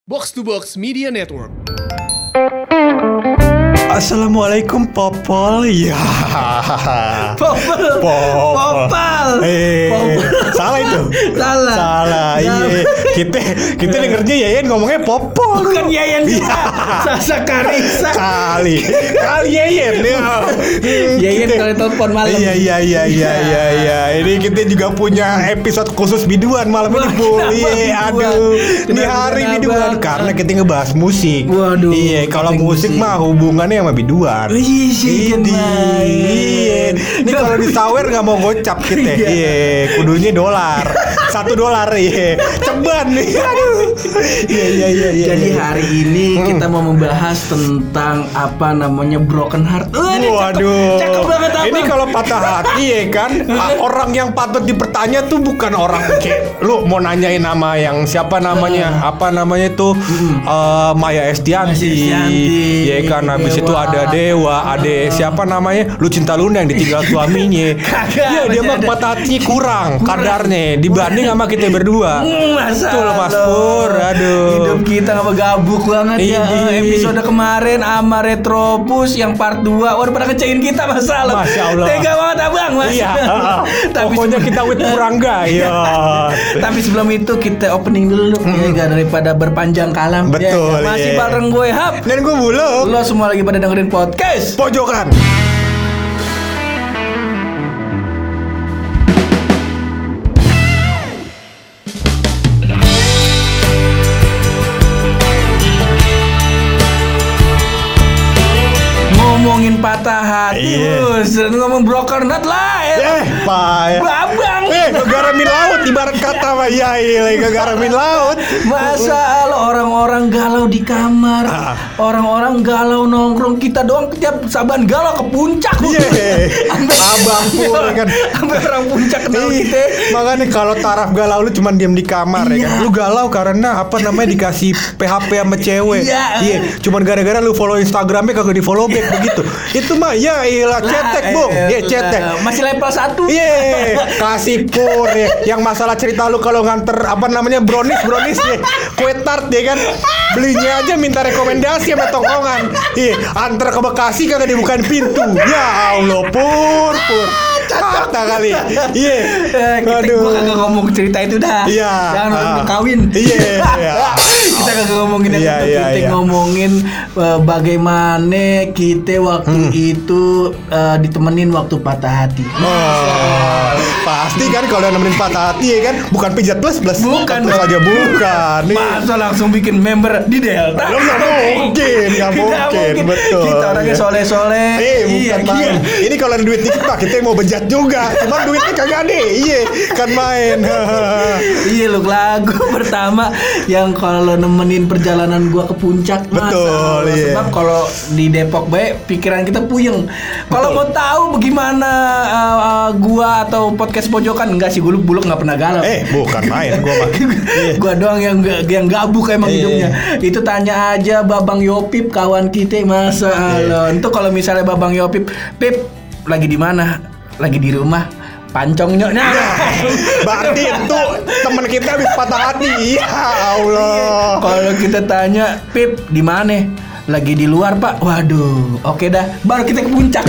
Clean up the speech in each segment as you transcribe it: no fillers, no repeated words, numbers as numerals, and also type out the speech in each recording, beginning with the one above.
Box to Box Media Network. Assalamualaikum Popol. Ya. Popol. Salah itu. Salah. Iya. Kita dengernya Yayan ngomongnya Popol. Bukan Yayan juga. Sasa Karisa. Kali Yayan ya. Yayan kali telepon malam. Iya. Ini kita juga punya episode khusus biduan malam ini, Bu. Iya, aduh. Ini hari biduan karena kita ngebahas musik. Waduh. Iya, kalau musik mah hubungannya sama biduan. Iya. Ini kalau disawer nggak mau gocap kita. Iya, kudunya dolar. $1. Iya. Ceban nih. Aduh. Iya. Jadi hari ini kita mau membahas tentang apa namanya broken heart. Waduh. Cakep banget apa? Ini kalau patah hati ya kan, orang yang patut dipertanya tuh bukan orang kayak lu mau nanyain nama yang siapa namanya, apa namanya tuh Maya Estianti. Ya kan, habis itu ada Dewa, ada siapa namanya? Lu Cinta Luna yang ditinggal suaminya. Iya, dia mah patah hatinya kurang kadarnya dibanding sama kita berdua. Betul Mas Pur. Aduh. Hidup kita gabuk banget ya. Episode kemarin sama Retropus yang part 2. Waduh, pada kecein kita masalah. Masya Allah. Tega banget abang, Mas. Iya. Pokoknya kita with Purangga. Iya. Tapi sebelum itu kita opening dulu ya, daripada berpanjang kalam. Betul. Ya, masih bareng gue Hap dan gue Bulog. Lo semua lagi pada dengerin podcast Pojokan. ngomongin patah hati, ngomong broken heart lah ya. Babang. Ngegaramin laut ibarat kata mah ya ngegaramin laut. Masa lo orang-orang galau di kamar, orang-orang galau nongkrong, kita doang tiap saban galau ke puncak. Abang pur kan. Sampai orang puncak kenal kita. Makanya kalau taraf galau lu cuma diam di kamar ya kan. Lu galau karena apa namanya dikasih PHP sama cewek. Iya. Cuman gara-gara lu follow Instagramnya kagak di follow back begitu. Itu mah ya iyalah cetek, Bung. Iya, cetek. Masih level 1. Iya. Kasih pur ya. Yang masalah cerita lu kalau nganter apa namanya brownies ya. Kue tart ya kan. Belinya aja minta rekomendasi sama tongkongan. Iya, antar ke Bekasi kagak dibukain pintu. Ya Allah, pur. Kata kali. Iya. Aduh. Gua kagak ngomong cerita itu dah. Iya. Jangan kawin. Iya. Kita kagak ngomongin itu. Kita ngomongin bagaimana kita waktu itu ditemenin waktu patah hati. Pasti kan kalau nemenin patah hati ya kan, bukan pijat plus. Bukan aja bukan. Masa langsung bikin member di Delta? Nggak mungkin, betul. Kita orangnya soleh-soleh. Bukan main. Ini kalau ada duit dikit pak, kita mau bejat juga. Cuman duitnya kagak ada. Iya, kan main. Iya, lu lagu pertama yang kalau nemenin perjalanan gua ke puncak. Betul. Sebab kalau di Depok baik pikiran kita puyeng. Kalau mau tahu bagaimana gua atau podcast pojokan, enggak sih, buluk nggak pernah galau. Bukan main gua mah. Gua doang yang gabuk emang hidupnya. Itu tanya aja Babang Yopip kawan kita, masa Allah. Itu kalau misalnya Babang Yopip, Pip lagi di mana? Lagi di rumah. Pancongnya. Berarti itu teman kita habis patah hati. Ya Allah. Kalau kita tanya, Pip di mana? Lagi di luar pak. Waduh, oke dah, baru kita ke puncak.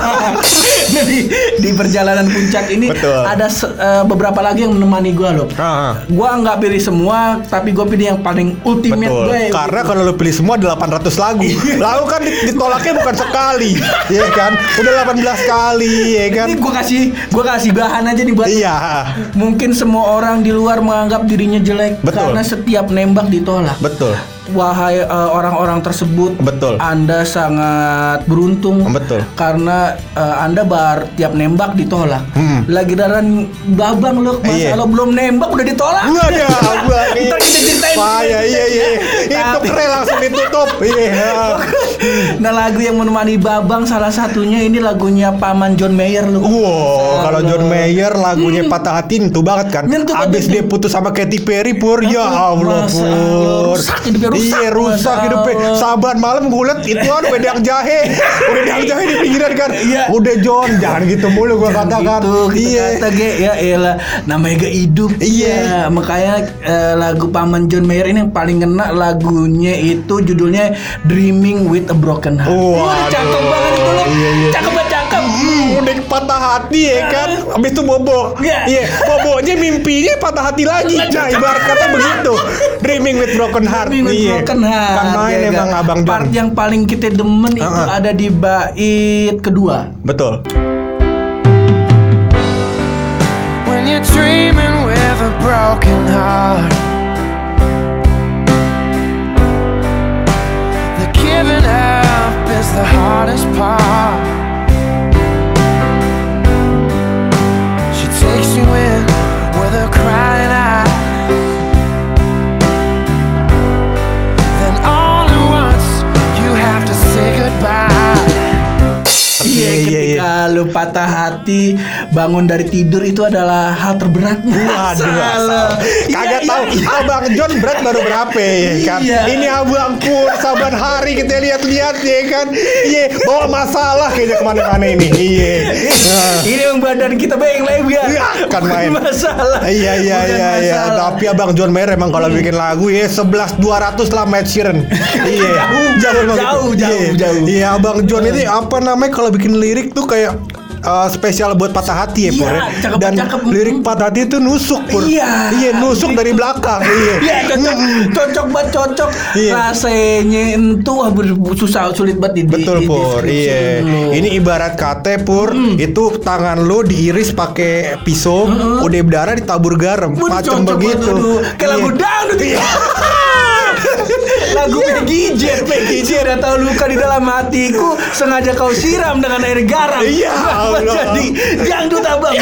di perjalanan puncak ini ada beberapa lagi yang menemani gue loh. Gue nggak pilih semua, tapi gue pilih yang paling ultimate gue. Karena kalau lo pilih semua 800 lagu. Lagu kan ditolaknya bukan sekali, ya kan? Udah 18 kali, ya kan? Ini gue kasih bahan aja nih buat. Iya. Mungkin semua orang di luar menganggap dirinya jelek karena setiap nembak ditolak. Betul. Wahai orang-orang tersebut, Anda sangat beruntung. Karena Anda tiap nembak ditolak. Lagi daran babang loh, masa lo belum nembak udah ditolak. Ntar kita ceritain. Iya. Itu keren langsung ditutup. Iya. Nah, lagu yang menemani Babang salah satunya ini lagunya Paman John Mayer lu. Wow, kalau John Mayer lagunya Patah Hati itu banget kan. Abis dia putus sama Katy Perry Pur, ya Allah Pur. Iya rusak hidupnya. Saban malam gue liat itu kan wedang jahe di pinggiran kan. Udah John, jangan gitu mulu gue katakan. Iya. Kata ya elah, namanya gak hidup. Iya. Makanya lagu Paman John Mayer ini yang paling kena lagunya itu judulnya Dreaming with a Broken Heart. Wah, cakep banget itu loh. Cakep. Udah patah hati ya kan. Habis itu bobo. Iya, bobonya mimpinya patah hati lagi. Nah, ibarat kata begitu. Dreaming with broken heart. Broken heart. Kan main emang Abang John. Part yang paling kita demen itu ada di bait kedua. Betul. When you're dreaming with a broken heart, the giving up is the hardest part. She takes you in with her crying eyes, then all at once you have to say goodbye. Iya, ketika lu patah hati bangun dari tidur itu adalah hal terberatnya. Waduh, kagak tahu Abang John berat baru berapa ya kan? Ini Abang Pur saban hari kita lihat-lihat ya kan? Iya, bawa masalah kayaknya kemana-mana ini. Iya. Ini yang badan kita beng lebar. Kan main masalah. Iya. Tapi Abang John Mayer emang kalau bikin lagu ya 11.200 lah Ed Sheeran. Iya. Jauh. Iya, Abang John ini apa namanya kalau bikin lirik tuh kayak spesial buat patah hati ya Pur. Dan lirik patah hati itu nusuk Pur. Iya, nusuk dari belakang. Iya. Cocok. Rasanya itu susah sulit banget betul Pur. Iya. Ini ibarat kate Pur, itu tangan lo diiris pakai pisau, udah berdarah ditabur garam, macam begitu. Kayak lagu dangdut. Lagu Peggy J atau luka di dalam hatiku sengaja kau siram dengan air garam. Iya. Jadi dangdut Abang.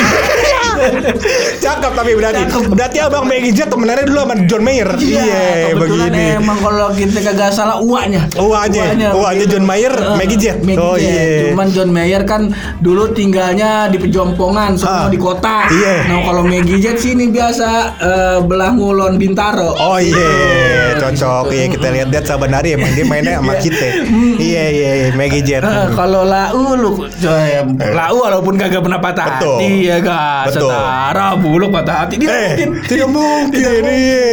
Cakep tapi berarti Abang Peggy J temenannya dulu sama John Mayer. Iya, begini. Emang kalau kita kagak salah uaknya John Mayer, Maggie J. Oh iya. Cuman John Mayer kan dulu tinggalnya di Pejompongan, semua di kota. Nah kalau Maggie J sini biasa belah Ngulon Bintaro. Oh iya, cocok. Iya, kita lihat sabanari emang dia mainnya sama kita. Iya, Maggie J. Kalau lau walaupun kagak pernah patah hati ya kan. Setara Buluk patah hati dia tidak mungkin.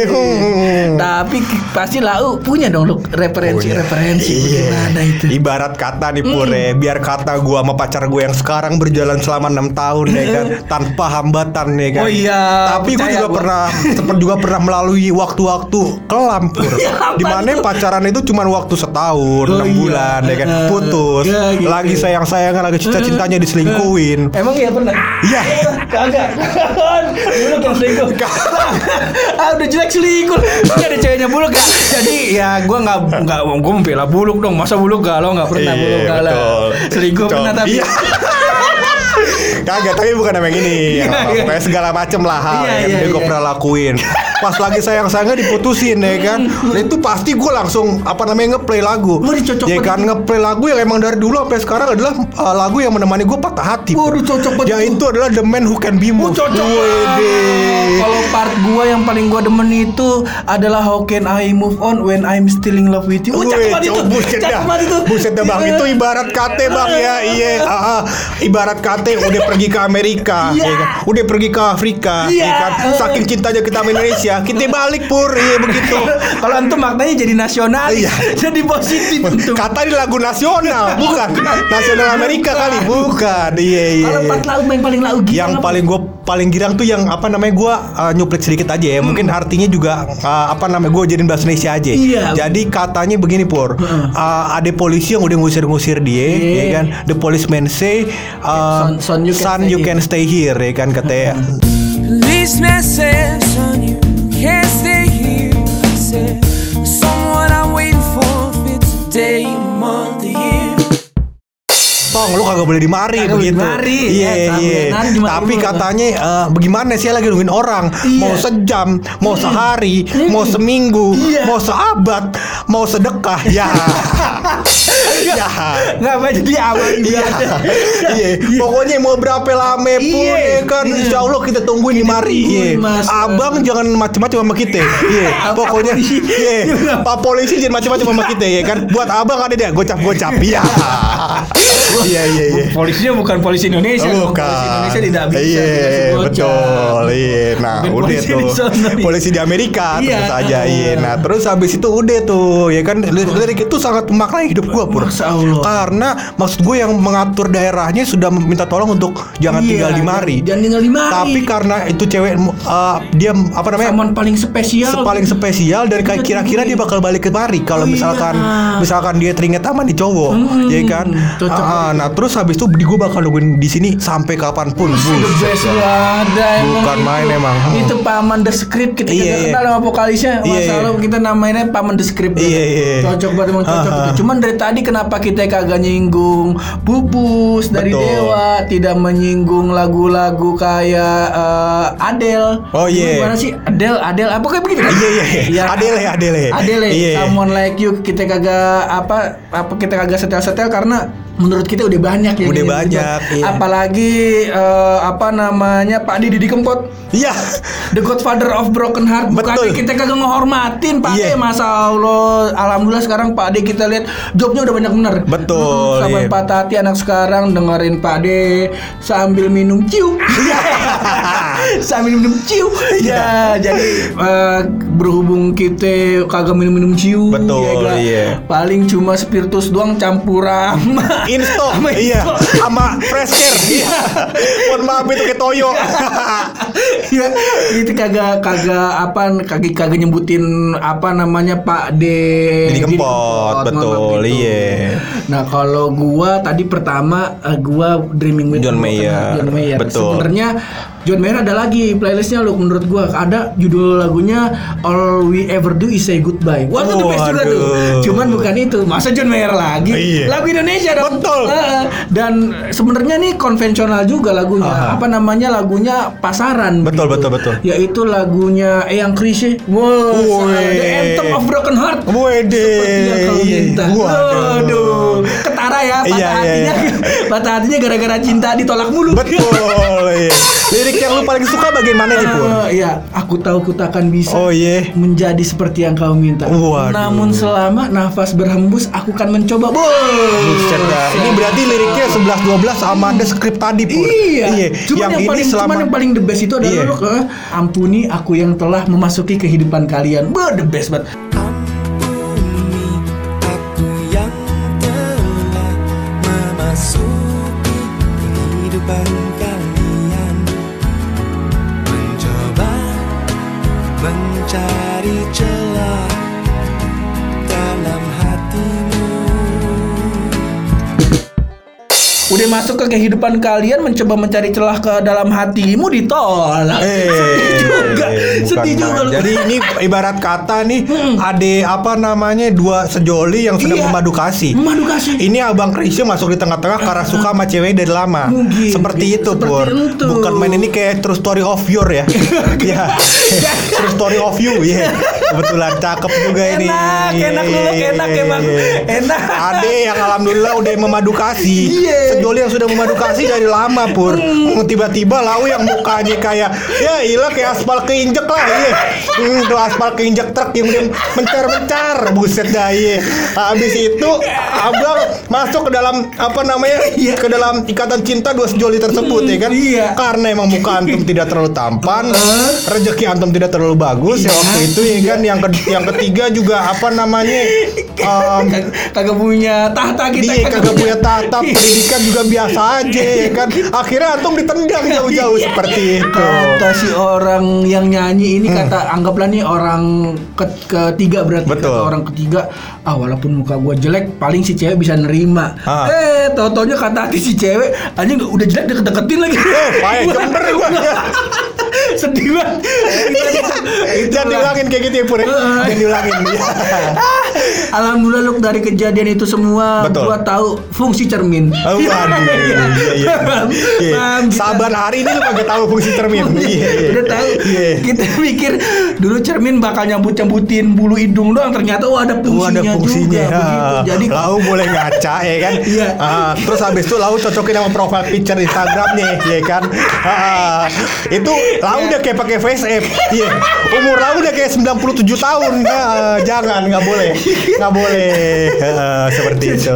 Tapi pasti lau punya dong lu referensi gimana itu. Ibarat kata nih Pur, biar kata gua sama pacar gua yang sekarang berjalan selama 6 tahun ya kan, tanpa hambatan ya kan. Oh iya. Tapi gua juga pernah melalui waktu-waktu kelam Pur. Dimana pacaran itu cuma waktu setahun, 6 bulan ya kan, putus. Lagi sayang-sayangan, lagi cinta-cintanya diselingkuhin. Emang iya pernah? Iya. Kagak. Buluk yang selingkuh. Udah jelek selingkuh. Gak ada ceweknya Buluk gak? Jadi ya gue membela Buluk dong. Masa Buluk galau gak pernah Buluk galau. Selingkuh pernah tapi. Kagak, tapi bukan yang ini. Kayak segala macem lah hal yang gue pernah lakuin. Pas lagi sayang-sayangnya diputusin ya kan. Nah itu pasti gue langsung ngeplay lagu. Ya kan, ngeplay lagu yang emang dari dulu sampai sekarang adalah lagu yang menemani gue patah hati. Waduh, cocok banget. Ya itu adalah The Man Who Can Be Moved. Kalau part gue yang paling gue demen itu adalah How Can I Move On When I'm Still in Love With You. Cakep banget itu. Buset dah Bang, itu ibarat kate Bang ya. Iya, ibarat kate udah pergi ke Amerika, ya kan? Udah pergi ke Afrika, ya kan? Saking cintanya kita sama Indonesia, kita balik Pur, iya begitu. Kalau antum maknanya jadi nasional, jadi positif. Kata di lagu nasional, bukan nasional Amerika kali, bukan. Iya. Kalau part lagu yang paling lagu gitu. Yang paling girang tuh yang gue nyuplik sedikit aja ya. Mungkin artinya juga gue jadiin bahasa Indonesia aja. Jadi katanya begini Pur, ada polisi yang udah ngusir dia, ya kan? The policeman say, son you can stay here, ya kan katanya. Policeman says, son you can't stay here. I said, someone I'm waiting for fits a day, a month, a year. Tong, lu kagak boleh dimari begitu. Iya. Tapi katanya bagaimana sih lagi nungguin orang, mau sejam, mau sehari, mau seminggu, mau seabad, mau sedekah ya. Ya. Nggak apa jadi abang Iya. Iya. Pokoknya mau berapa lama pun ya kan, insya Allah kita tungguin di mari. Iya. Abang jangan macam-macam sama kita. Iya. Pokoknya iya. Pak polisi jangan macam-macam sama kita ya kan. Buat abang ada dia gocap-gocap. Iya. Iya. Polisinya bukan polisi Indonesia. Bukan. Polisi Indonesia tidak bisa. Iya, betul. Iya. Nah, Bukan udah polisi tuh. di sana. Polisi di Amerika Iya. terus aja. Iya. Nah, terus habis itu udah tuh, ya kan lirik itu sangat memaknai hidup gua, Pur. Masya Allah. Karena maksud gue yang mengatur daerahnya sudah minta tolong untuk jangan tinggal di mari. Jangan tinggal di mari. Tapi karena itu cewek dia apa namanya? Saman paling spesial. Paling spesial dan kayak kira-kira dia bakal balik ke mari kalau misalkan dia teringat sama nih cowok, ya kan? Nah, terus habis itu gue bakal nungguin di sini sampai kapanpun. The best ada Bukan main emang. Itu Paman The Script kita kenal sama vokalisnya. Masalah kita namainnya Paman The Script. Cocok banget emang cocok itu. Cuman dari tadi kenapa kita kagak nyinggung Pupus dari Dewa, tidak menyinggung lagu-lagu kayak Adele. Oh iya. Gimana sih Adele apa kayak begitu kan? Iya. Adele. Someone Like You kita kagak apa kita kagak setel-setel karena menurut kita udah banyak ya. Udah banyak. Iya. Apalagi apa namanya Pak Didi Kempot. Iya. The Godfather of Broken Heart. Bukan kita kagak ngehormatin Pak D. Masa Allah. Alhamdulillah sekarang Pak D kita lihat jobnya udah banyak bener. Betul. Sampai patah hati anak sekarang dengerin Pak D sambil minum ciu. Sambil minum ciu. Ya jadi berhubung kita kagak minum ciu. Betul. Ya, iya. Paling cuma spiritus doang campuran. Insto. Iya. Sama fresh care. Iya. Mohon maaf itu kayak toyo. Ya, itu kagak nyebutin apa namanya Pak Didi Kempot. Betul. Iya. Nah, kalau gua tadi pertama gua Dreaming with John Mayer. Betul. Sebenarnya John Mayer ada lagi playlistnya lo menurut gua ada judul lagunya All We Ever Do Is Say Goodbye. Wah itu the best juga tuh. Cuman bukan itu. Masa John Mayer lagi? Iya. Lagu Indonesia dong. Betul. Dan sebenarnya nih konvensional juga lagunya. Apa namanya lagunya pasaran. Betul. Yaitu lagunya Eyang Krisye. Wow. The Anthem of Broken Heart. Wede. Seperti yang kau minta. Waduh. Ketara ya patah hatinya gara-gara cinta ditolak mulu. Betul. Iya. Lirik yang lu paling suka bagian mana nih, Pur? Iya, aku tahu ku takkan bisa menjadi seperti yang kau minta. Waduh. Namun selama nafas berhembus, aku akan mencoba. Buset dah. Ini berarti liriknya 11-12 sama ada skrip tadi, Pur. Iya. Cuman yang paling the best itu adalah lu ampuni aku yang telah memasuki kehidupan kalian. The best banget. Mencari celah dalam hatimu. Udah masuk ke kehidupan kalian, mencoba mencari celah ke dalam hatimu, ditolak. Sedih juga. Jadi ini ibarat kata nih ada apa namanya dua sejoli yang sedang memadu kasih. Ini Abang Krisye masuk di tengah-tengah karena suka sama cewek dari lama. Seperti itu, Pur. Bukan main ini kayak True Story of You ya. Ya. True Story of You ya. Kebetulan cakep juga ini. Enak emang. Enak. Ade yang alhamdulillah udah memadu kasih. Sejoli yang sudah memadu kasih dari lama, Pur. Tiba-tiba lau yang mukanya kayak ya ilah kayak aspal keinjek lah. Tuh aspal keinjek truk yang udah mencar-mencar. Buset dah. Habis itu Abang masuk ke dalam apa namanya? Ke dalam ikatan cinta dua sejoli tersebut ya kan? Karena emang muka antum tidak terlalu tampan, rezeki antum tidak terlalu bagus ya waktu itu ya kan. Yang ketiga juga apa namanya? Kagak punya tahta kita. Dia kagak punya tahta, pendidikan juga biasa aja ya kan. Akhirnya antum ditendang jauh-jauh seperti itu. Kata si orang yang nyanyi ini kata anggaplah nih orang ketiga berarti. Betul. Kata orang ketiga, walaupun muka gua jelek paling si cewek bisa nerima. Tau-taunya kata hati si cewek anjing udah jelek deket-deketin lagi. Payah jember gua. Sedih banget. Jangan diulangin kayak gitu ya, Pur. Jangan diulangin. Alhamdulillah Luk, dari kejadian itu semua gua tahu fungsi cermin. Oh, waduh. Iya. Saban hari ini lu kagak tahu fungsi cermin. Udah tahu. Kita pikir dulu cermin bakal nyambut-nyambutin bulu hidung doang, ternyata ada fungsinya juga. Begitu. Jadi lau boleh ngaca ya kan. Terus habis itu lau cocokin sama profile picture Instagramnya ya kan. Itu lau udah kayak pakai face app. Iya. Umur lau udah kayak 97 tahun. Jangan, nggak boleh. Seperti itu.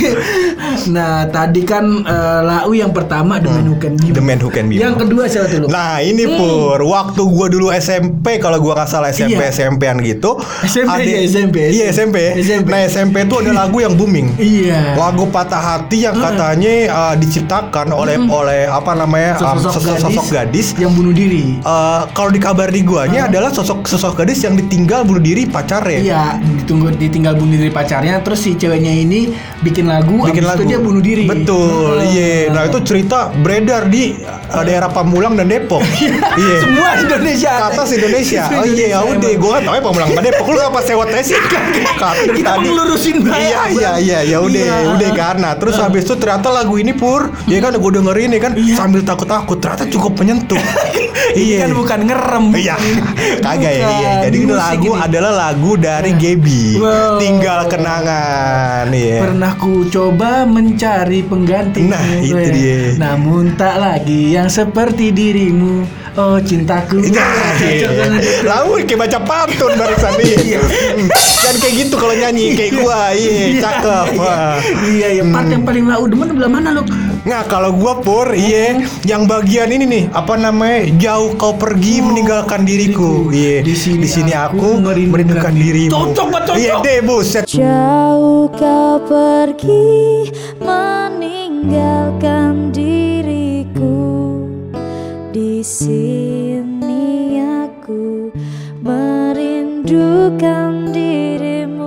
Nah, tadi kan lau yang pertama The Man Who Can Be. Yang kedua siapa tuh? Nah, ini Pur, waktu gua dulu SMP, kalau gua nggak salah SMP-an gitu. SMP. Nah, SMP itu ada lagu yang booming. Iya. Lagu Patah Hati yang katanya diciptakan oleh apa namanya sosok gadis yang bunuh diri. Kalau di kabar di guanya adalah sosok gadis yang ditinggal bunuh diri pacarnya. Iya, ditinggal bunuh diri pacarnya, terus si ceweknya ini bikin lagu. Itu dia bunuh diri. Betul. Iya. Nah, itu cerita beredar di daerah Pamulang dan Depok. Iya. Semua Indonesia. Kata Indonesia. Oh iya, ya udah gua enggak tahu ya Pamulang dan Depok. Lu apa sewa tes sih? Kita ngelurusin banget. Iya, ya udah kan. Nah, terus habis itu ternyata lagu ini Pur, ya kan gua dengerin ya kan sambil takut-takut, ternyata cukup menyentuh. Iya. Kan bukan ngerem. Iya. Kagak ya. Iya. Jadi itu lagu adalah lagu dari Gaby. Tinggal Kenangan. Iya. Pernah ku coba mencari pengganti. Nah, itu dia. Namun tak lagi yang seperti dirimu. Oh cintaku. Lalu kayak baca pantun barusan nih. Kan kayak gitu kalau nyanyi kayak gua. Iya, cakep. Iya, part yang paling lau demen belah mana lu? Nah, kalau gua Pur, yang bagian ini nih, apa namanya? Jauh kau pergi meninggalkan diriku. Iya. Di sini aku merindukan dirimu. Cocok. Iya deh, buset. Jauh kau pergi meninggalkan diriku. Di sini aku merindukan dirimu.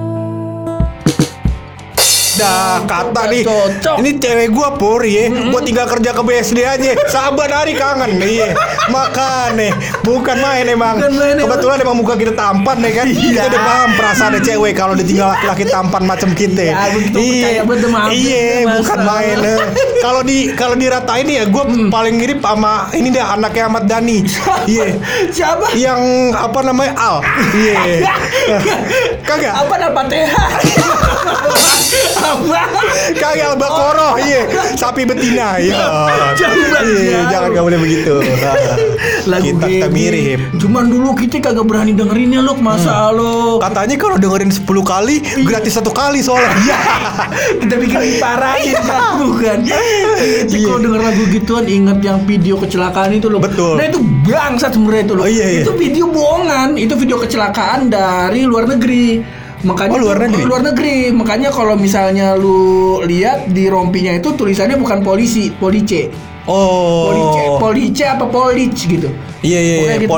Dah kata nih, Cocok. ini cewek gua Pur ya, gua tinggal kerja ke BSD aja, sahabat hari kangen nih, makanya bukan main emang. Kebetulan emang muka kita tampan nih kan, kita udah paham perasaan cewek kalau ditinggal laki-laki tampan macam kita. Iya, bukan main. Kalau diratain ya, gua paling mirip sama ini deh anaknya Ahmad Dhani. Iya. Siapa? Yang apa namanya Al. Iya. Kagak. Apa nama TH? Kagak Al-Baqarah, sapi betina, jangan gak boleh begitu. Kita mirip. Cuman dulu kita kagak berani dengerinnya Luk, masa lo. Katanya kalau dengerin 10 kali gratis 1 kali soalnya. Iya. Kita bikin diparahin bukan. Kalau denger lagu gituan inget yang video kecelakaan itu loh. Betul. Nah itu bangsat sebenarnya itu loh. Itu video bohongan, itu video kecelakaan dari luar negeri. Makanya luar negeri. Makanya kalau misalnya lu lihat di rompinya itu tulisannya bukan police. Police apa police gitu. Iya, gitu.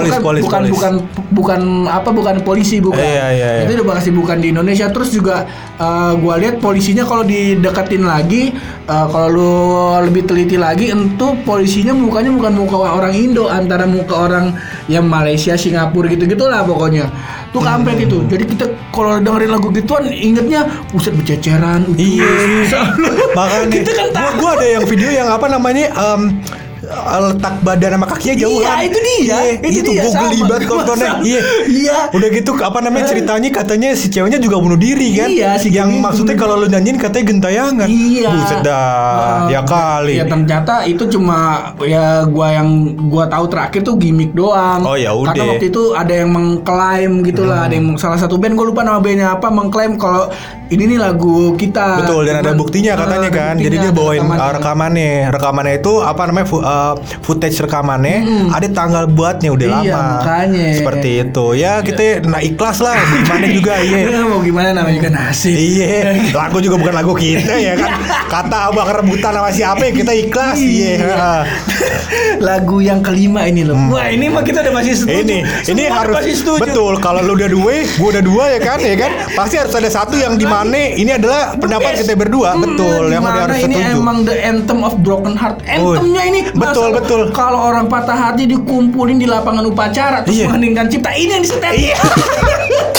Bukan polisi bukan. Iya. Itu udah pasti bukan di Indonesia. Terus juga gua lihat polisinya kalau dideketin lagi, kalau lu lebih teliti lagi, itu polisinya mukanya bukan muka orang Indo, antara muka orang yang Malaysia, Singapura gitu-gitulah pokoknya. Tuh kampret itu. Jadi kita kalau dengerin lagu gituan ingetnya buset bececeran. Iya. Makanya gua ada yang video yang apa namanya letak badan sama kakinya jauh. Iya, itu dia. Itu gue geli banget kontonnya. Iya. Udah gitu apa namanya ceritanya katanya si ceweknya juga bunuh diri kan? Iya, si yang maksudnya kalau lu nyanyiin katanya gentayangan. Iya. Buset dah. Ya kali. Ya ternyata itu cuma ya gua tahu terakhir tuh gimmick doang. Oh ya udah. Karena waktu itu ada yang mengklaim gitulah, ada yang salah satu band gue lupa nama bandnya apa mengklaim kalau ini nih lagu kita. Betul, dan ada buktinya katanya kan. Jadi dia bawain rekamannya itu apa namanya footage rekamannya, ada tanggal buatnya udah lama. Makanya. Seperti itu. Ya kita ikhlas lah gimana juga. Mau gimana namanya juga nasib. Iya. Lagu juga bukan lagu kita ya kan. Kata abang rebutan sama siapa kita ikhlas. Iya. Lagu yang kelima ini loh. Wah, ini mah kita udah masih setuju. Ini harus betul. Kalau lu udah dua, gua udah dua ya kan. Pasti harus ada satu yang di mana ini adalah pendapat kita berdua. Betul, yang udah harus setuju. Ini emang the anthem of broken heart. Anthemnya ini betul. Kalau orang patah hati dikumpulin di lapangan upacara terus mengheningkan cipta, ini yang disetel.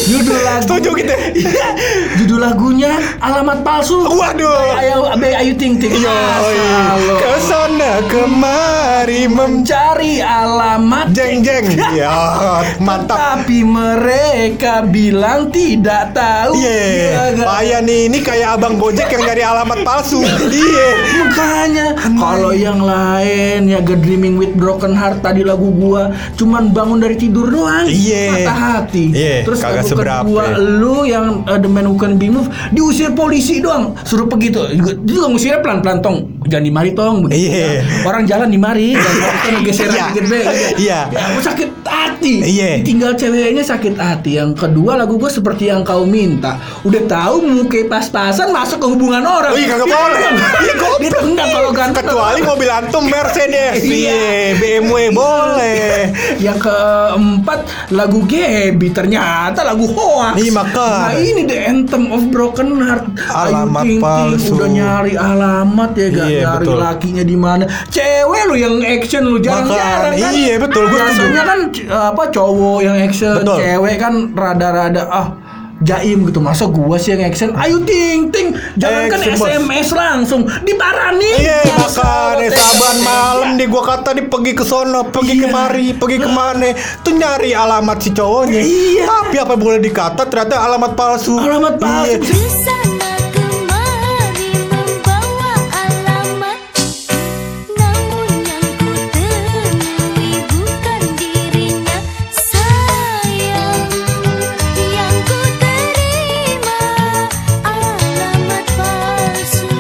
Judul lagu. Setuju gitu. Judul lagunya Alamat Palsu. Waduh. Ayu Ting Ting. Kesana kemari mencari alamat. Jeng. Ya, mantap. Tapi mereka bilang tidak tahu. Iya. Payah nih, ini kayak abang Gojek yang nyari alamat palsu. Iya. Makanya kalau yang lain ya God Dreaming with Broken Heart tadi lagu gua cuman bangun dari tidur doang. Iya. Patah hati. Iya. Terus Kagak lagu seberapa. kedua lu yang The Man Who Can Be Moved diusir polisi doang. Suruh pergi tuh. Dia juga ngusirnya pelan-pelan tong. Jangan dimari tong begitu. Iya. Orang jalan dimari dan geseran Iya. dikit be. Iya. Ya, aku sakit hati. Iya. Ditinggal ceweknya sakit hati. Yang kedua lagu gua Seperti Yang Kau Minta. Udah tahu muka pas-pasan masuk ke hubungan orang. Oh iya, kagak boleh. Dia enggak kalau ganteng. Kecuali mobil antum Mercedes. Iya. BMW boleh. Yang keempat lagu Gaby ternyata lagu hoax. Iya, makanya. Nah ini The Anthem of Broken Heart. Alamat Ayu Ting Ting palsu. udah nyari alamat ya gak Iya, nyari betul. lakinya di mana. Cewek lu yang action lu jarang-jarang kan. Iya, betul, gua Biasanya kan cowok yang action, Betul. cewek kan rada-rada jaim gitu. Masa gua sih yang action? Ayu Ting Ting jangan kan Action, bos. SMS langsung diparani. Iya, makanya Masa saban lo malam di gua kata pergi ke sono, pergi Iya. kemari, pergi kemana, tuh nyari alamat si cowoknya. Iya. Tapi apa boleh dikata ternyata alamat palsu. Alamat palsu. Iya. Kesana kemari membawa alamat, namun yang ku temui bukan dirinya. Sayang, yang ku terima alamat palsu.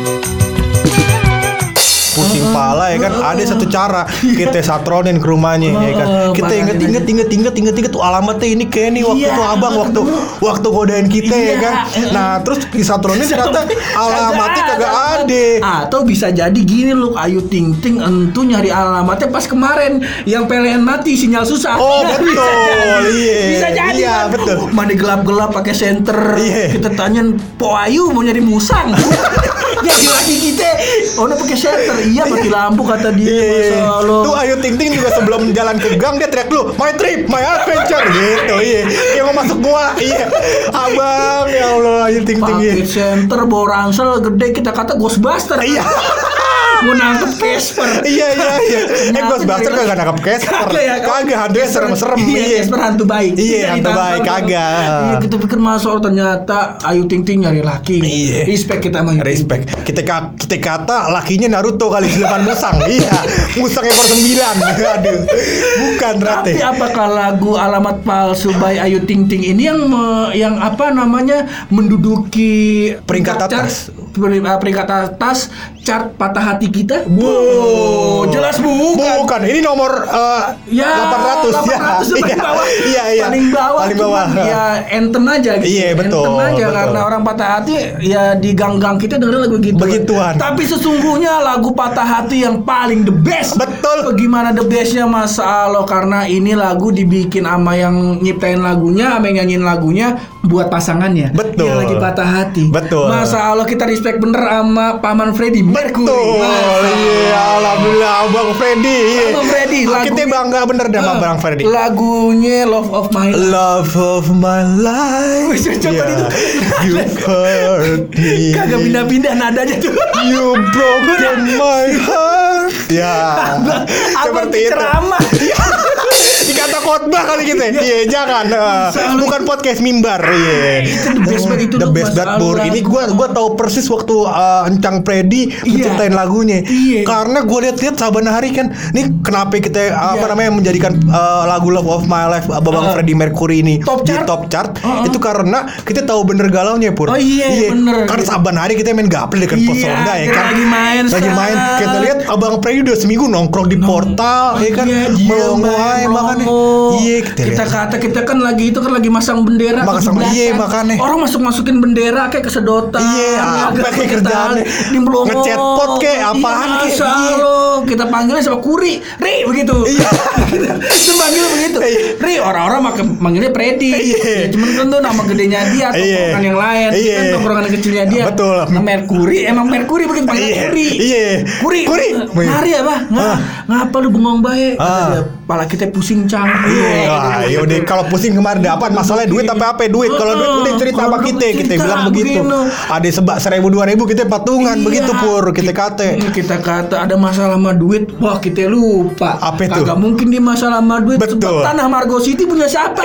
Pusing pala ya kan. Ada satu cara kita satronin ke rumahnya ya kan. Kita inget tuh alamatnya ini kayak nih waktu Iya, tuh abang waktu godain kita ya Iya. kan. Nah terus disatronin ternyata alamatnya kagak ada. Atau bisa jadi gini loh, Ayu Ting Ting entu nyari alamatnya pas kemarin yang PLN mati sinyal susah. Oh, Nah, betul. bisa jadi. Iya. Bisa jadi Iya, kan. betul. Mana gelap-gelap pakai senter. Iya. Kita tanyain Po Ayu mau nyari musang. Jadi lagi kita udah pakai senter. Iya mati lampu kata dia. Iya. Masa lo. Tuh Ayu Ting Ting juga sebelum jalan ke gang dia teriak lu, my trip, my adventure gitu. Iya. Yang mau masuk gua. Iya. Abang ya Allah Ayu Ting Ting. Pakai Iya. senter bawa ransel gede kita kata Ghostbuster. Iya. Mau nangkep Casper. Iya. Ternyata Ghostbuster dari- kagak nangkap Casper. Kagak ya, Kagak, hantunya serem-serem. Iya, Casper hantu baik. Iya, Jadi hantu tampar baik, kan. kagak. Iya, kita pikir masuk ternyata Ayu Ting Ting nyari laki. Iya. Respect kita sama Ayu Ting Ting. Respect. Kita kata lakinya Naruto kali 8 musang. Iya. Musang ekor 9. Aduh. Bukan ternyata. Tapi apakah lagu Alamat Palsu by Ayu Ting Ting ini yang apa namanya menduduki Peringkat chart- atas. peringkat atas chart patah hati kita? Wow, jelas bukan. Bukan. Ini nomor Ya 800 ya. paling bawah. Iya. Paling bawah. Paling bawah. cuman ya anthem aja gitu. Iya, betul, Anthem aja betul. karena orang patah hati ya di gang-gang kita dengerin lagu gitu. Begituan. Tapi sesungguhnya lagu patah hati yang paling the best. Betul. Bagaimana the bestnya Mas Alo, karena ini lagu dibikin sama yang nyiptain lagunya, sama yang nyanyiin lagunya buat pasangannya. Betul. Yang lagi patah hati. Betul. Mas Alo, kita respect bener sama Paman Freddy Mercury. Betul. Iya, alhamdulillah Abang Freddy. Abang Freddy, Kita bangga bener deh sama Abang Freddy. Lagunya Love of My Life. Love of my life. Wih, coba itu. You hurt me. Kagak pindah-pindah nadanya tuh. You broken my heart. Ya. Seperti itu. ceramah. Dikata khotbah kali gitu. Iya, jangan. Bukan podcast mimbar. Iya. Itu the best banget itu The loh, best Mas banget, Bur. Alwan. Ini gua tahu persis waktu Encang Freddy menciptain lagunya. Iya. Karena gua lihat saban hari kan, nih kenapa kita apa namanya menjadikan lagu Love of My Life Babang Freddie Mercury ini Top di chart. top chart. Itu karena kita tahu bener galaunya, Pur. Oh iya, bener. Karena saban hari kita main gaple dengan Iya, Posonda ya kita kan. lagi main sekarang. Kita lihat Abang Freddy udah seminggu nongkrong di portal ya kan. Iya, dia Melongo aja makanya. Iya, kita kata kita kan lagi itu kan lagi masang bendera. Masang, 17-an. iya, makanya. Orang masukin bendera kayak kesedotan. Iya, apa kayak kerjaannya? di Melongo. Nge-chat pot kayak apaan iya, kayak, Salo. Kita panggilnya sama Kuri, Ri begitu. Iya. Kita panggil begitu. Iya. Ri, orang-orang manggilnya Freddy. Iya. Ya, cuman kan tuh nama gedenya dia atau Iya. tongkrongan yang lain. Iya. Kan tongkrongan kecilnya dia. Betul. Nah, Mercury, emang Mercury begitu panggilnya Iya. Kuri. Iya. Kuri. Kuri. Mari apa? Ngapa lu bengong bae? Kata Ah. dia, kepala kita pusing Cang. Iya, yaudah kalau pusing kemarin dapat masalahnya duit apa duit. Kalau duit udah cerita sama kita bilang begitu. Ada sebab 1.000-2.000 kita patungan begitu Pur, kita kata. Kita kata ada masalah sama duit, wah kita lupa. Apa itu? Kagak mungkin dia masalah sama duit. Betul. Sebab tanah Margo City punya siapa?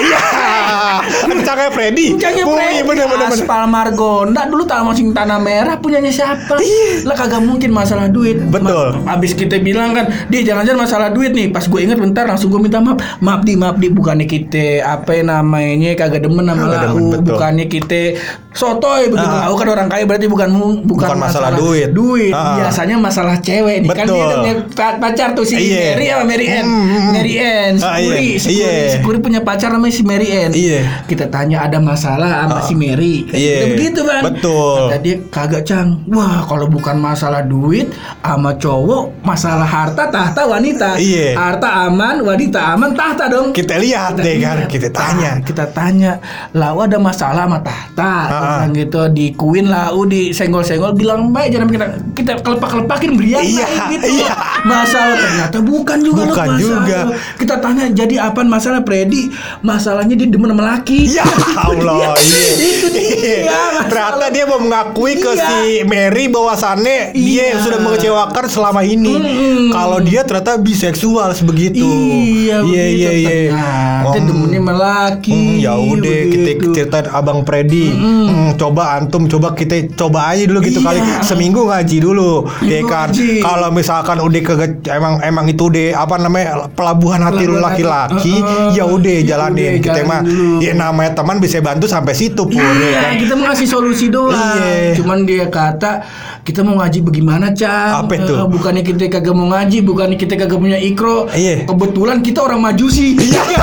Rencana Freddy. Bener. Aspal Margonda dulu tanah merah punyanya siapa? Lah kagak mungkin masalah duit. Betul. Abis kita bilang kan, dia jangan-jangan masalah duit nih. Pas gue ingat bentar langsung gue minta maaf. Maaf di bukannya kita apa namanya kagak demen sama lau, bukannya kita sotoy begitu. Lau kan orang kaya berarti bukan masalah duit. Biasanya masalah cewek nih. Kan dia udah punya pacar tuh si Mary sama Mary Ann. Mary Ann, Sikuri punya pacar namanya si Mary Ann. Kita tanya ada masalah sama si Mary. Begitu Bang. Betul. Kata dia kagak Cang. Wah kalau bukan masalah duit sama cowok, masalah harta tahta wanita. Harta aman, wanita aman, tahta dong. Kita lihat deh kan, kita tanya. Lau ada masalah sama tahta. Orang gitu di Queen lau disenggol-senggol bilang baik jangan kita kelepak-kelepakin beriak gitu. Masalah ternyata bukan juga. Kita tanya jadi apa masalah Freddy? Masalahnya dia demen sama laki. Ya Allah. Itu dia. Ternyata dia mau mengakui ke si Mary bahwasannya dia sudah mengecewakan selama ini. Kalau dia ternyata biseksual sebegitu. Iya. Ternyata demennya sama laki. Ya udah kita ceritain Abang Freddy. Coba antum kita coba aja dulu gitu kali seminggu ngaji dulu. Ya kan. Kalau misalkan udah emang itu deh apa namanya pelabuhan hati lu laki-laki, ya udah jalanin. Kita mah ya namanya teman bisa bantu sampai situ Pur. Kan? Kita mau ngasih solusi doang. Cuman dia kata kita mau ngaji bagaimana Cang? Apa itu? Bukannya kita kagak mau ngaji, bukannya kita kagak punya ikro. Kebetulan kita orang majusi.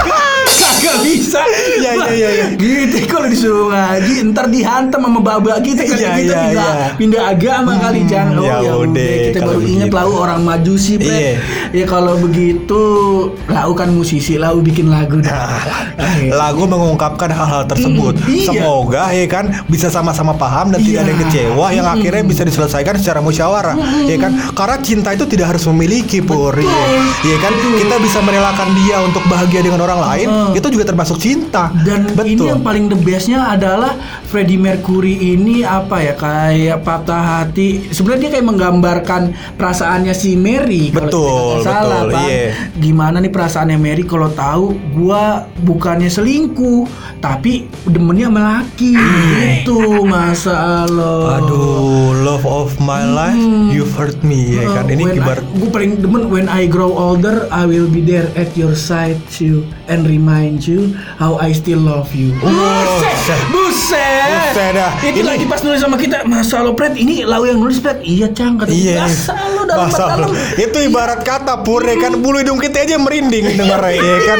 Kagak bisa. Iya. Gitu kalau disuruh ngaji ntar dihantam sama baba kita kan kita pindah agama kali Cang. Ya udah kita baru ingat lau orang majusi ya kalau begitu lau kan musisi, lau bikin lagu lagu mengungkapkan hal-hal tersebut. Semoga ya kan bisa sama-sama paham dan tidak ada yang kecewa yang akhirnya bisa diselesaikan secara musyawarah. Ya kan karena cinta itu tidak harus memiliki Pur. Ya kan kita bisa merelakan dia untuk bahagia dengan orang lain. Itu juga termasuk cinta. Dan ini yang paling the bestnya adalah Freddie Mercury ini apa ya kayak patah hati. Sebenarnya dia kayak menggambarkan perasaannya si Mary. Kalau salah Bang. Gimana nih perasaannya Mary kalau tahu gua bukannya selingkuh tapi demennya sama laki. Itu masalah. Aduh, love of my life, you've hurt me. Ya kan ini kibar. Gue paling demen when I grow older, I will be there at your side you and remind you how I still love you. Buset dah. Itu lagi pas nulis sama kita, Masa lo Pret, ini lau yang nulis Pret. Iya Cang, kata masa lo dalam. Itu ibarat kata Pur kan bulu hidung kita aja merinding denger ya kan.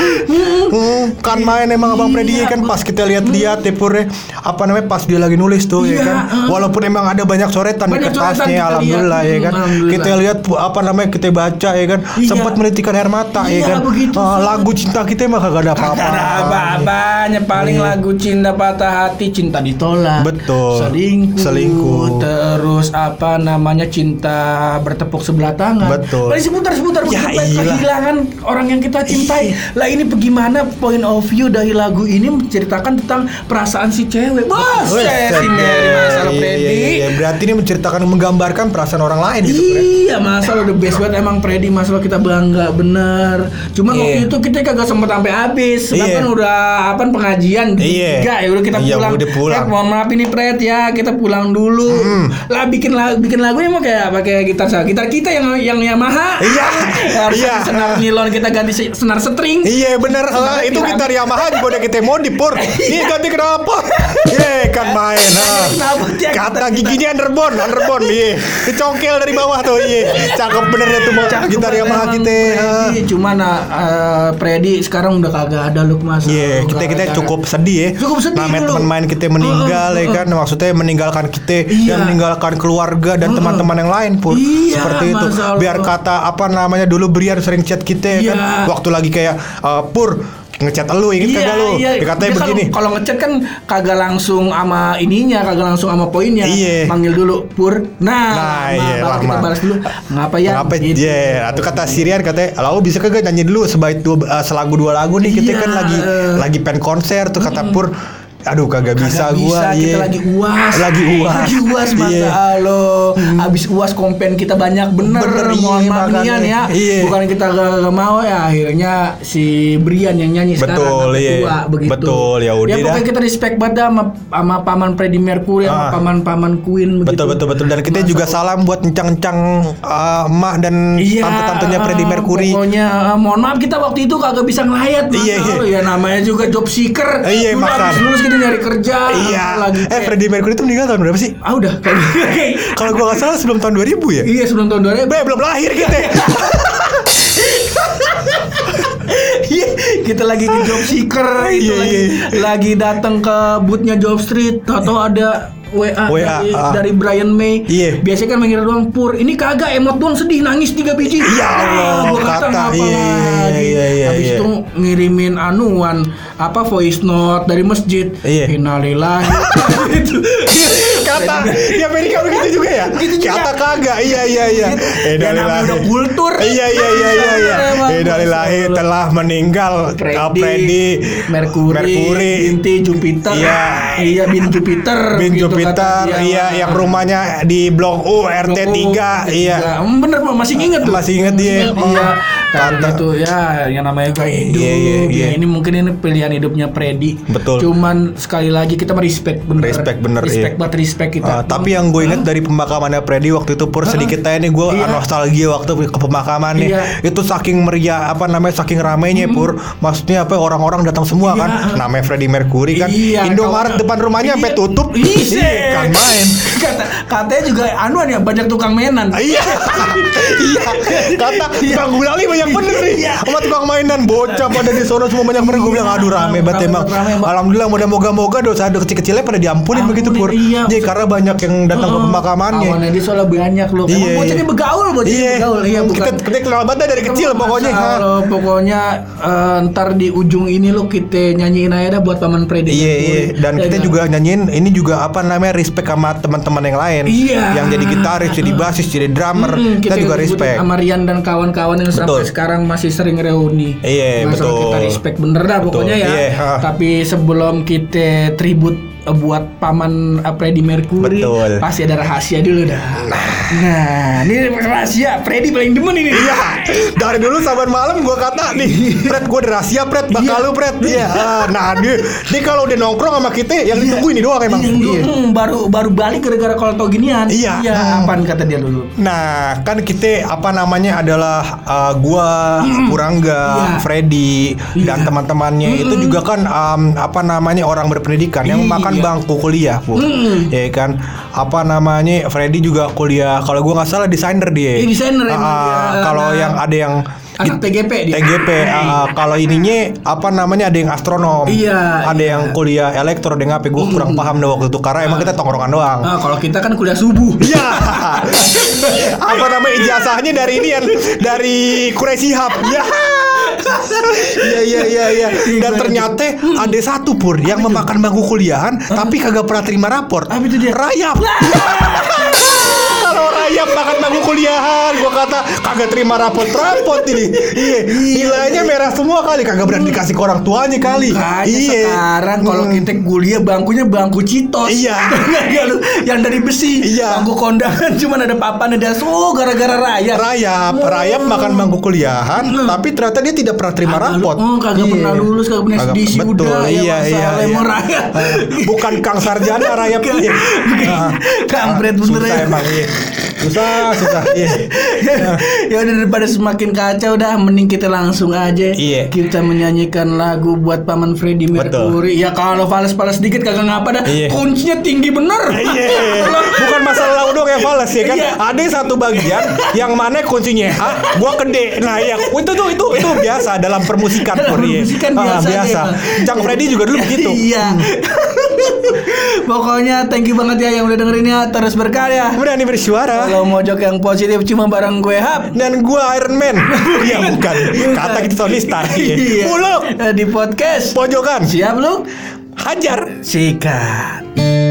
Kan main emang Abang Freddy kan pas kita lihat-lihat ya Pur apa namanya pas dia lagi nulis tuh ya kan. Walaupun emang ada banyak coretan di kertasnya alhamdulillah ya kan. Kita lihat apa namanya kita baca ya kan. Sempat menitikan air mata ya kan. Lagu cinta kita mah kagak ada apa-apanya paling lagu cinta patah hati, cinta ditolak, betul, selingkuh, terus apa namanya cinta bertepuk sebelah tangan, betul, paling seputar kehilangan orang yang kita cintai. Lah ini bagaimana point of view dari lagu ini menceritakan tentang perasaan si cewek. Si Mary masalah Freddy. Berarti ini menceritakan menggambarkan perasaan orang lain gitu. Iya, masalah the best banget emang Freddy, masalah kita bangga bener. Cuman waktu itu kita kagak sempet sampai habis. Sebab kan udah pengajian enggak ya udah kita pulang. Mohon maaf ini Pret ya, kita pulang dulu. Lah bikin lagunya mah kayak pakai gitar kita yang Yamaha. Senar nilon kita ganti senar string. Iya bener. Itu gitar Yamaha juga udah kita modif Pur. Ini ganti kenapa? Kan main. Kata giginya underbone. Dicongkel dari bawah tuh. Cakep bener ya tuh gitar Yamaha kita. Cuman Freddy sekarang udah kagak ada look Mas. Kita cukup sedih ya. Namanya teman main kita meninggal ya kan. Maksudnya meninggalkan kita dan meninggalkan keluarga dan teman-teman yang lain Pur. Seperti itu. Biar kata apa namanya dulu Brian sering chat kita ya kan. Waktu lagi kayak Pur ngechat lu, inget kagak lu? Dikatanya Dia begini. Kalau ngechat kan kagak langsung sama ininya, kagak langsung sama poinnya. Iya. Panggil dulu Pur. Nah baru kita balas dulu. Ngapa ya? Ngapa Gitu. Atau kata Sirian katanya, "Lalu bisa kagak nyanyi dulu selagu 2 lagu nih, kita kan lagi pen konser tuh," kata Pur. Aduh kagak bisa gua. Kita lagi UAS. Lagi UAS masa lo. Abis UAS kompen kita banyak bener mohon maaf Nian ya. Bukan kita gak mau ya, akhirnya si Brian yang nyanyi betul, sekarang tua begitu. Betul, ya udah. Ya pokoknya kita respect banget sama paman Freddie Mercury sama paman Queen begitu. Betul. Dan kita juga salam buat encang-encang emak dan tante-tantenya Freddie Mercury. Pokoknya mohon maaf kita waktu itu kagak bisa ngelayat. Ya namanya juga job seeker. Iya, makan. Lulus kita nyari kerja. Iya. Lagi Freddie Mercury itu meninggal tahun berapa sih? Udah kalau gua nggak salah sebelum tahun 2000 ya. Iya sebelum tahun 2000. Belum lahir kita. Kita lagi di job seeker itu lagi datang ke boothnya Job Street atau ada WA dari Brian May. Biasanya kan mengira doang Pur. Ini kagak emot doang sedih nangis 3 biji. Ya Allah. Gua kata ngapa lagi. Habis itu ngirimin voice note dari masjid. Innalillahi. Kata di Amerika begitu juga ya? Kata kagak. Iya. Innalillahi udah kultur. Iya. Innalillahi telah meninggal Freddie Mercury binti Jupiter. Iya bin Jupiter. Yang rumahnya di Blok U RT 3. Iya. Bener masih inget tuh. Masih inget dia. Iya. Karena itu ya yang namanya gaya hidup. Iya. Ini mungkin ini pilihan hidupnya Freddie. Betul. Cuman sekali lagi kita respect bener. Respect kita. Tapi yang gue inget dari pemakamannya Freddie waktu itu Pur sedikit aja nih gue nostalgia waktu ke pemakaman nih. Itu saking meriah saking ramainya Pur. Maksudnya orang-orang datang semua kan. Namanya Freddie Mercury kan. Indomaret depan rumahnya sampai tutup. Kan main. Katanya juga ya banyak tukang mainan. Iya. Kata Bang Gulali banyak bener nih. Sama tukang mainan bocah pada di sono semua banyak bener. Gue bilang aduh rame banget emang. Alhamdulillah moga-moga dosa kecil-kecilnya pada diampunin begitu Pur. Jadi karena banyak yang datang ke pemakamannya. Awannya dia soalnya banyak loh. Bocahnya begaul. Iya kita kenal banget dari kecil pokoknya. Pokoknya ntar di ujung ini lo kita nyanyiin aja dah buat paman Freddie. Iya. Dan kita juga nyanyiin ini juga respect sama teman-teman yang lain. Yang jadi gitaris, jadi basis, jadi drummer. Kita juga respect sama Rian dan kawan-kawan yang sampai sekarang masih sering reuni. Iya, betul. Kita respect bener dah pokoknya ya. Tapi sebelum kita tribute buat paman Freddie Mercury, pasti ada rahasia dulu dah. Nah, ini rahasia Freddie paling demen ini. Iya. Dari dulu saban malam gue kata nih, Fred gue ada rahasia Fred, bakal lu Fred. Iya. Nah, dia kalau udah nongkrong sama kita yang ditunggu ini doang emang. Baru balik gara-gara kalau tau ginian. Iya. Apaan kata dia dulu? Nah, kan kita adalah gua, Purangga, Freddie dan teman-temannya itu juga kan orang berpendidikan yang makan bangku kuliah, ya kan? Freddie juga kuliah. Kalau gua nggak salah desainer dia. Desainer kalau yang ada yang anak TGP dia. Kalau ininya ada yang astronom. Ada yang kuliah elektro dengan apa? Gue kurang paham deh waktu itu karena emang kita tongkrongan doang. Kalau kita kan kuliah subuh. Iya. Ijazahnya dari ini dari Quraisy Hub. Iya. Dan ternyata ada satu Pur yang memakan bangku kuliahan tapi kagak pernah terima raport. Apa itu dia? Rayap. Kalau Rayap makan bangku kuliahan, gua kata kagak terima raport ini. Iya. Nilainya merah semua kali, kagak berani dikasih ke orang tuanya kali. Iya. Sekarang kalau kita kuliah bangkunya bangku Citos. Iya. Yang dari besi. Iya. Bangku kondangan cuman ada papan ada gara-gara Rayap makan bangku kuliahan, tapi ternyata dia tidak pernah terima raport. Kagak pernah lulus, kagak pernah sedisi udah. Iya. Bukan Kang Sarjana Rayap. Kampret bener ya. Emang iya. Susah. Ya udah daripada semakin kacau dah, mending kita langsung aja. Kita menyanyikan lagu buat paman Freddie Mercury. Ya kalau fals dikit kagak ngapa dah. Kuncinya tinggi bener. Bukan masalah doang yang fals ya kan. Ada satu bagian yang mana kuncinya gua gede. Nah ya itu biasa dalam permusikan Korea. Biasa. Cang Freddie juga dulu begitu. Iya. Pokoknya thank you banget ya yang udah dengerin ya. Terus berkarya, berani bersuara. kalau mojok yang positif cuma bareng gue Hap Dan gua Iron Man. Ya bukan. Kata kita Tony Stark. Iya. Muluk Di podcast pojokan. siap lu? Hajar. Sikat.